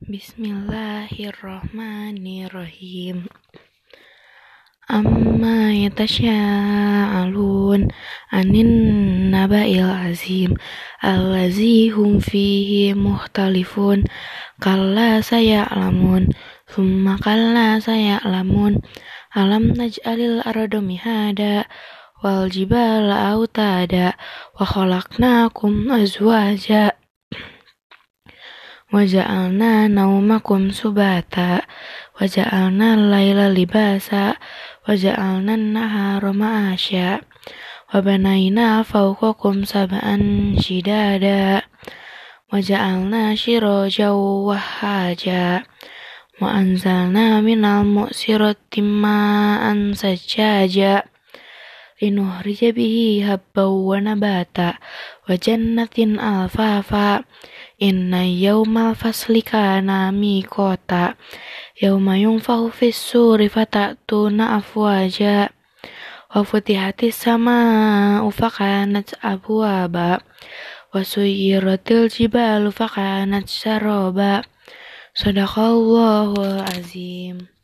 Bismillahirrahmanirrahim. Amma yatasya'alun anin naba'il azim allazi hum fihi mukhtalifun kalla saya'lamun thumma kalla saya'lamun alam naj'alil arda mihada wal jibala autada wa khalaqnakum azwaja waja'alna naumakum subata waja'alna laila libasa waja'alna nahara ma'asya wabanaina fawqakum sab'an shidada waja'alna siraja wahaja wa anzalna minal mu'sirati ma'an sajjaja linuhrija bihi habban wa nabata wa jannatin alfafa inna yawmal fasli kana miqata yawma yunfahu fis suri fatatuna afwaja wa futihatis sama'u fakanat abwaba wa suyyiratil jibalu fakanat saraba. Sadaqallahul azim.